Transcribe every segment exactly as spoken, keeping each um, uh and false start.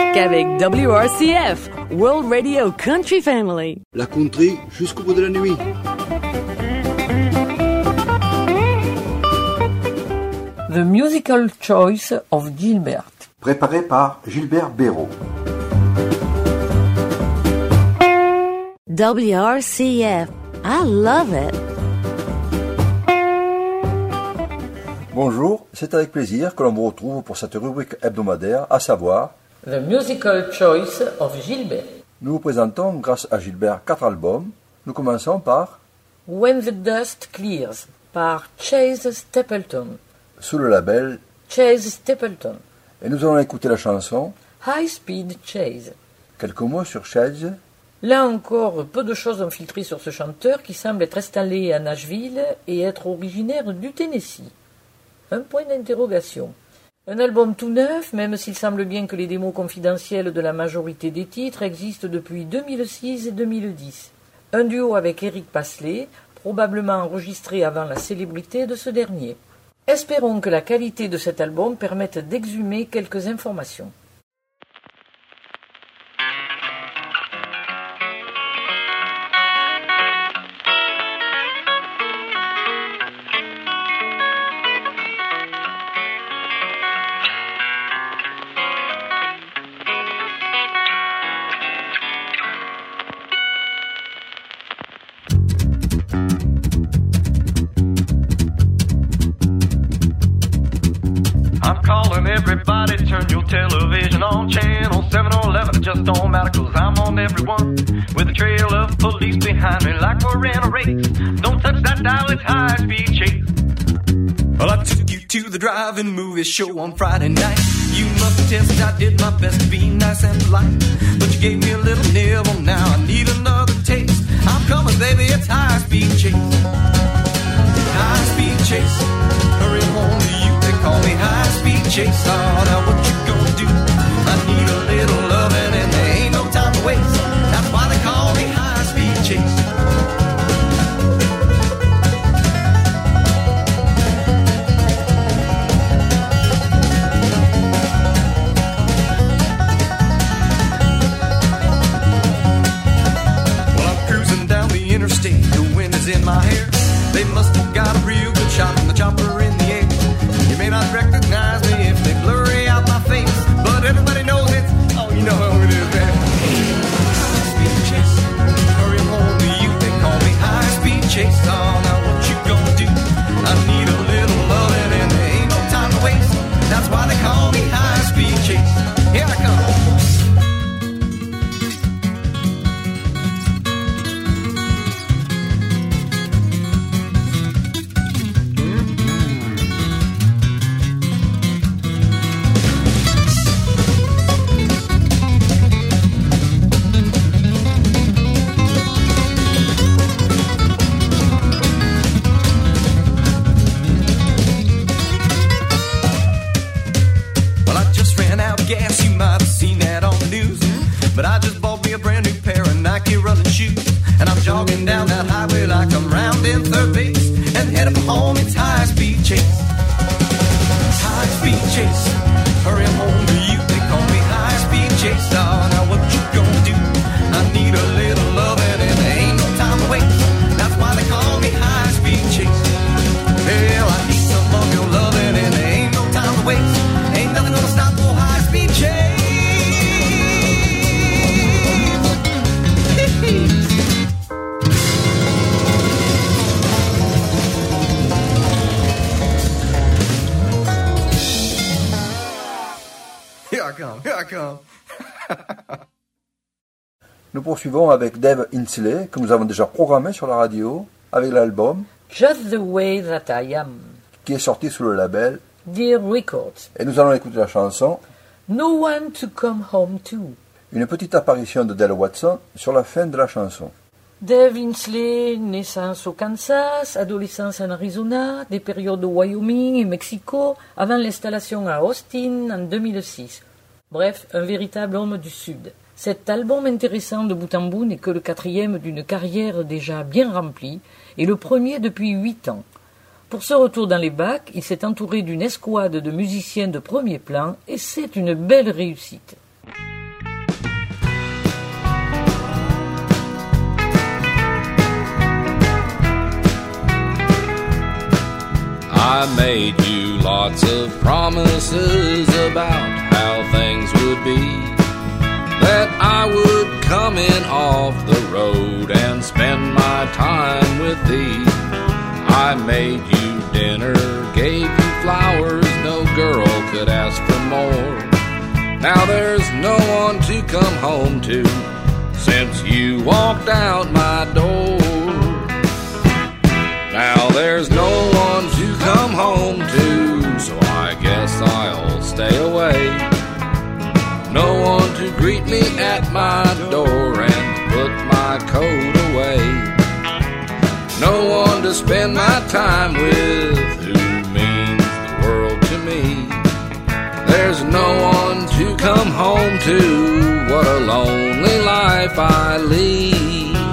musique avec W R C F, World Radio Country Family. La country jusqu'au bout de la nuit. The Musical Choice of Gilbert. Préparé par Gilbert Béraud. W R C F. I love it. Bonjour, c'est avec plaisir que l'on vous retrouve pour cette rubrique hebdomadaire, à savoir The Musical Choice of Gilbert. Nous vous présentons, grâce à Gilbert, quatre albums. Nous commençons par When the Dust Clears par Chase Stapleton. sous le label Chase Stapleton. et nous allons écouter la chanson High Speed Chase. Quelques mots sur Chase. Là encore, peu de choses ont filtré sur ce chanteur qui semble être installé à Nashville et être originaire du Tennessee. Un point d'interrogation. Un album tout neuf, même s'il semble bien que les démos confidentielles de la majorité des titres existent depuis deux mille six et deux mille dix. Un duo avec Eric Pasley, probablement enregistré avant la célébrité de ce dernier. Espérons que la qualité de cet album permette d'exhumer quelques informations. Everybody turn your television on channel seven or eleven, it just don't matter cause I'm on every one. With a trail of police behind me like we're in a race. Don't touch that dial, it's high speed chase. Well, I took you to the drive-in movie show on Friday night. You must attest I did my best to be nice and polite, but you gave me a little nibble, now I need another taste. I'm coming baby, it's high speed chase. High speed chase, hurry home to you, they call me high speed chase. Oh, now what you gonna do? I need a little loving and there ain't no time to waste. That's why they call me high speed chase. Well, I'm cruising down the interstate, the wind is in my hair. They must have got a real good shot from the chopper in the air. You may not recognize me if they blurry out my face, but everybody knows it. Oh, you know who it is, man. High speed chase, hurry home to you. They call me high speed chase. Oh, now what you gonna do? I need a little loving and there ain't no time to waste. That's why they call me high speed chase. Here I come. But I just bought me a brand new pair of Nike running shoes, and I'm jogging down that highway like I'm rounding third base, and headed for home, it's high speed chase. High speed chase, hurry home to you, they call me high speed chase. Oh, now what you gonna do? I need a little loving and there ain't no time to waste. That's why they call me high speed chase. Hell, I need some of your loving and there ain't no time to waste. Ain't nothing gonna stop for high speed chase. Here I come, here I come. Nous poursuivons avec Dave Insley, que nous avons déjà programmé sur la radio, avec l'album Just the Way That I Am, qui est sorti sous le label Dear Records. et nous allons écouter la chanson No One to Come Home To. une petite apparition de Dale Watson sur la fin de la chanson. Dave Insley, naissance au Kansas, adolescence en Arizona, des périodes au Wyoming et Mexico, avant l'installation à Austin en deux mille six. Bref, un véritable homme du Sud. Cet album intéressant de bout en bout n'est que le quatrième d'une carrière déjà bien remplie et le premier depuis huit ans. Pour ce retour dans les bacs, il s'est entouré d'une escouade de musiciens de premier plan et c'est une belle réussite. I made you lots of promises about how things would be, that I would come in off the road and spend my time with thee. I made you dinner, gave you flowers, no girl could ask for more. Now there's no one to come home to since you walked out my door. Now there's no one to come home to, so I guess I'll stay away. No one to greet me at my door and put my coat away. No one to spend my time with who means the world to me. There's no one to come home to, what a lonely life I lead.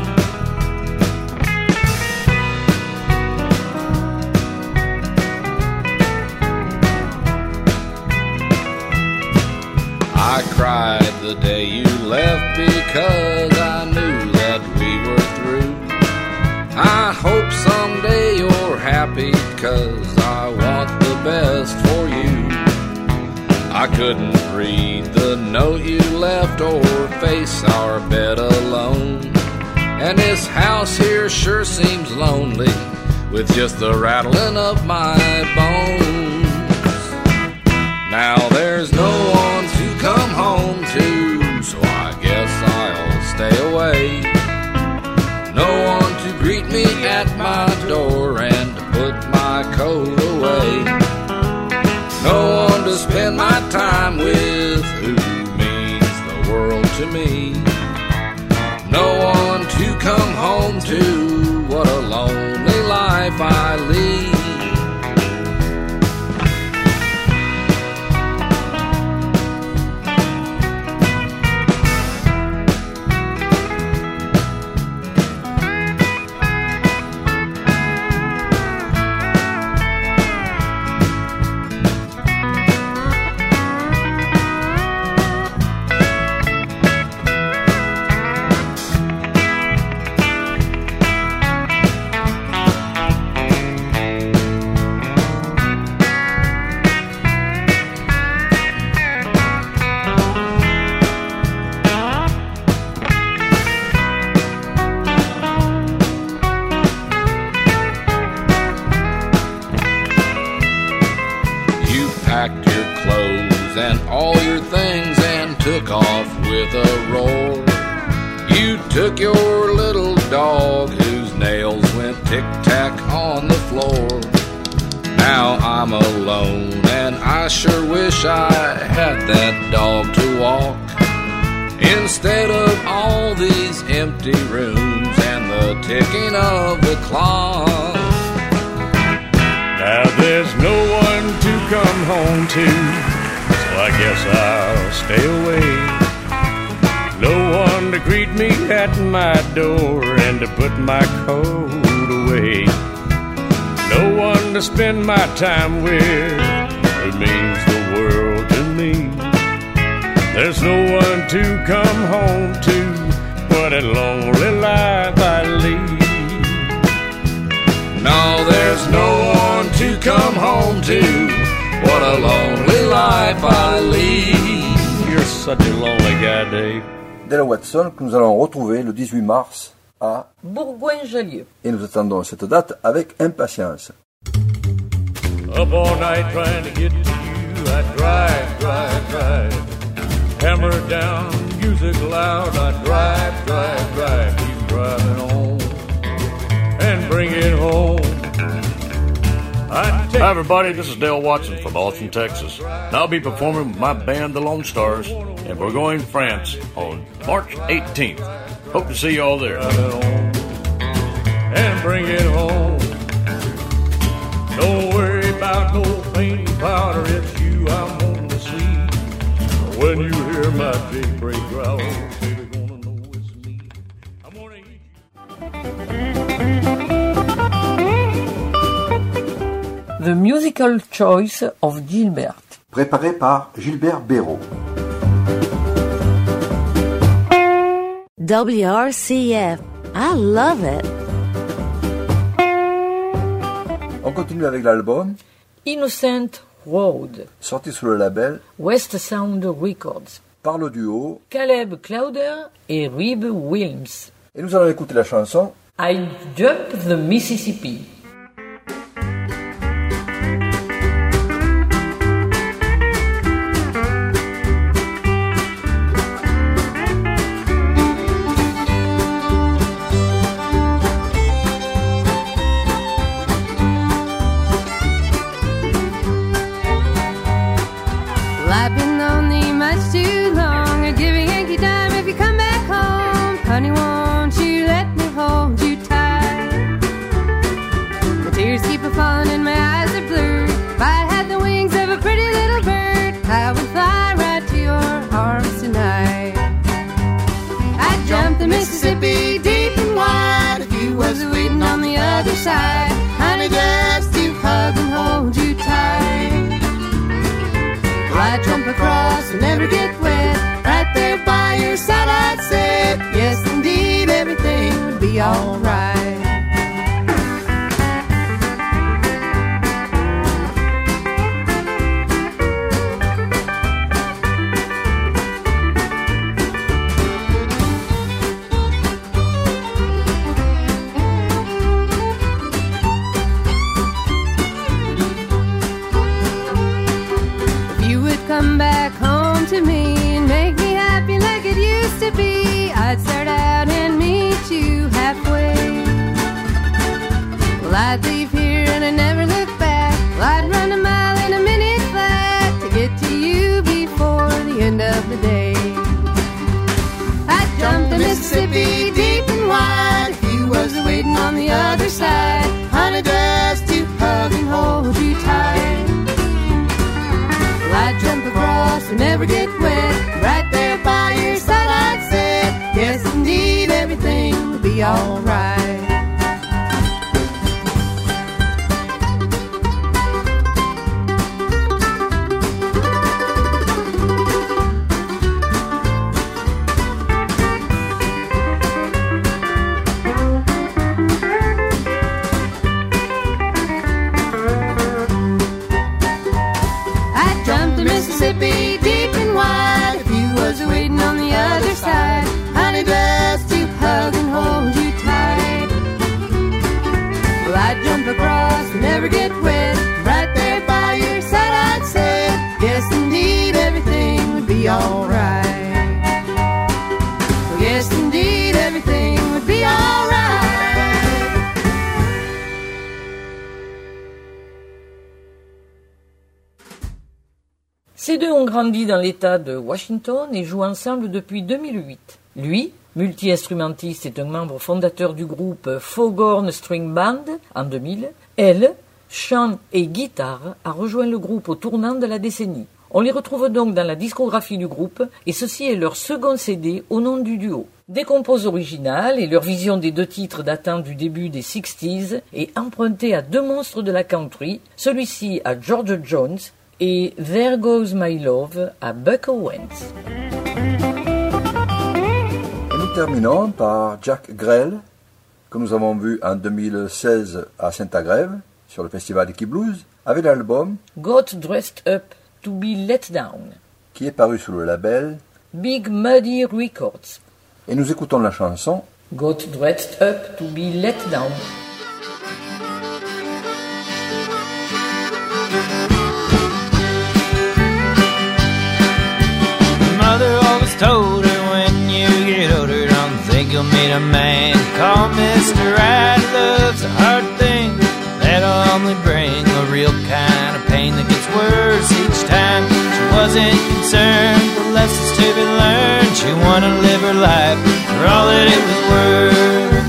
I cried the day you left because I knew that we were through. I hope someday you're happy, 'cause I want the best for you. I couldn't read the note you left or face our bed alone. And this house here sure seems lonely with just the rattling of my bones. Now there's no one to come home to, so I guess I'll stay away. No one to greet me at my door and to put my coat away. No one to spend my time with who means the world to me. No one to come home to, what a lonely life I lead. Packed your clothes and all your things and took off with a roar. You took your little dog whose nails went tic-tac on the floor. Now I'm alone and I sure wish I had that dog to walk, instead of all these empty rooms and the ticking of the clock. Now there's no one to come home to, so I guess I'll stay away. No one to greet me at my door and to put my coat away. No one to spend my time with who means the world to me. There's no one to come home to, what a lonely life I lead. No, there's no one to come home to, what a lonely life I lead. You're such a lonely guy, Dave. Della Watson, que nous allons retrouver le dix-huit mars à Bourgoin-Jallieu. Et nous attendons cette date avec impatience. Up all night trying to get to you, I drive, drive, drive. Hammer down, music loud, I drive, drive, drive. Keep driving on and bring it home. Hi everybody, this is Dale Watson from Austin, Texas. And I'll be performing with my band, the Lone Stars, in Bourgogne, France on March eighteenth. Hope to see you all there. And bring it home. Don't worry about no paint and powder, it's you I'm on to see. When you hear my big break growl, baby, gonna know it's me. I'm gonna eat you. The Musical Choice of Gilbert. Préparé par Gilbert Béraud. W R C F. I love it. On continue avec l'album Innocent Road, sorti sous le label West Sound Records, par le duo Caleb Clowder et Reb Wilms. Et nous allons écouter la chanson I Jumped the Mississippi. I've been lonely much too long. I'd give a Yankee dime if you come back home. Honey, won't you let me hold you tight? The tears keep a falling and my eyes are blurred. If I had the wings of a pretty little bird, I would fly right to your arms tonight. I'd jump the Mississippi deep and wide if you was waiting on the other side. Honey, just to hug and hold you tight. I'd jump across and never get wet. Right there by your side I'd sit. Yes, indeed, everything would be alright. Come back home to me and make me happy like it used to be. I'd start out and meet you halfway. Well, I'd leave here and I'd never look back. Well, I'd run a mile in a minute flat to get to you before the end of the day. I'd jump the Mississippi deep and wide if you was waiting on the other side. Honey, just to hug and hold you tight. I'd jump across and never get wet. Right there by your side I'd sit. Yes, indeed, everything will be alright. Mississippi deep and wide if you was waiting on the other side. Honey, just to hug and hold you tight. Well, I'd jump across and never get wet. Right there by your side I'd sit. Yes, indeed, everything would be alright. Well, yes, indeed, everything would be alright. Ces deux ont grandi dans l'État de Washington et jouent ensemble depuis deux mille huit. Lui, multi-instrumentiste, est un membre fondateur du groupe Foghorn String Band en deux mille. Elle, chant et guitare, a rejoint le groupe au tournant de la décennie. On les retrouve donc dans la discographie du groupe et ceci est leur second C D au nom du duo. Des compos originales et leur vision des deux titres datant du début des sixties est empruntée à deux monstres de la country, celui-ci à George Jones et There Goes My Love à Buck Owens. Et nous terminons par Jack Grell, que nous avons vu en deux mille seize à Saint-Agrève, sur le festival Icky Blues, avec l'album Got Dressed Up to Be Let Down, qui est paru sous le label Big Muddy Records. Et nous écoutons la chanson Got Dressed Up to Be Let Down. Mother always told her when you get older, don't think you'll meet a man called Mister Right. Love's a hard thing that'll only bring a real kind of pain that gets worse each time. She wasn't concerned with lessons to be learned. She wanted to live her life for all that it was worth.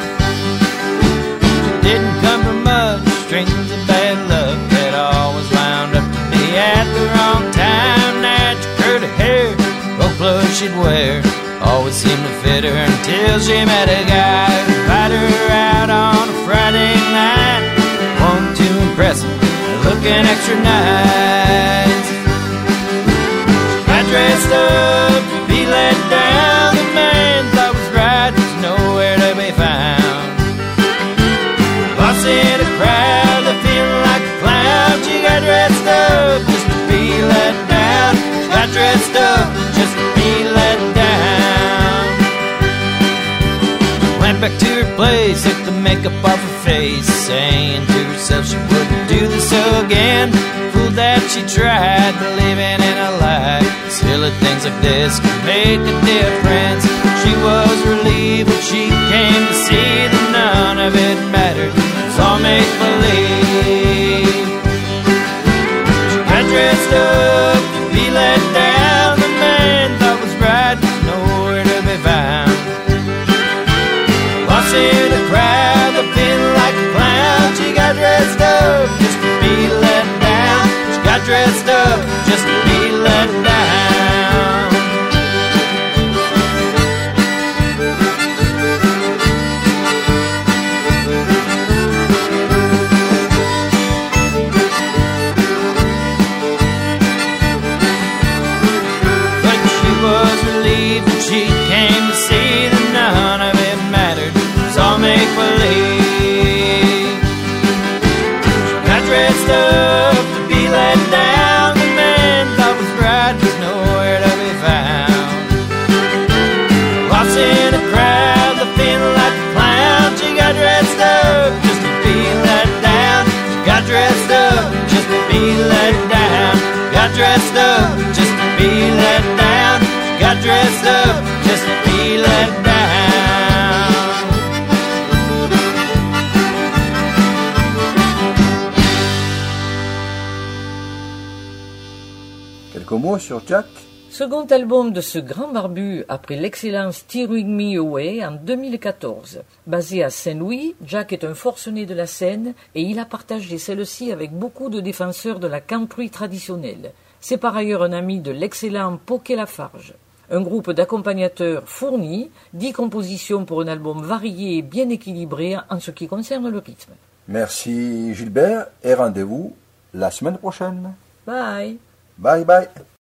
She didn't come from much, strings of bad luck that always wound up to be at the wrong time. Natural curly hair, gold clothes she'd wear always seemed to fit her until she met a guy who invited her out on a Friday night. Wanted to impress him, looking extra nice. She got dressed up to be let down. The man thought was right was nowhere to be found. Lost in a crowd, the makeup off her face, saying to herself she wouldn't do this again. Fool that she tried, believing in a lie. Silly things like this can make a difference. She was relieved when she came to see that none of it mattered. It was all make-believe. She got dressed up to be let down. The man thought was right, nowhere to be found. Lost in a crowd, but feeling like a clown. She got dressed up just to be let down. She got dressed up just to be let down. But she was relieved when she came to see that none of it mattered. It was all make-believe. She got dressed up to be let down. The man thought was right was nowhere to be found. Lost in a crowd, the feeling like a clown. She got dressed up just to be let down. She got dressed up just to be let down. Got dressed up just to be let down. She got dressed up just to be let down. Quelques mots sur Jack. Second album de ce grand barbu après l'excellent Steering Me Away en deux mille quatorze. Basé à Saint-Louis, Jack est un forcené de la scène et il a partagé celle-ci avec beaucoup de défenseurs de la country traditionnelle. C'est par ailleurs un ami de l'excellent Poké Lafarge. Un groupe d'accompagnateurs fournis, dix compositions pour un album varié et bien équilibré en ce qui concerne le rythme. Merci Gilbert et rendez-vous la semaine prochaine. Bye! Bye bye.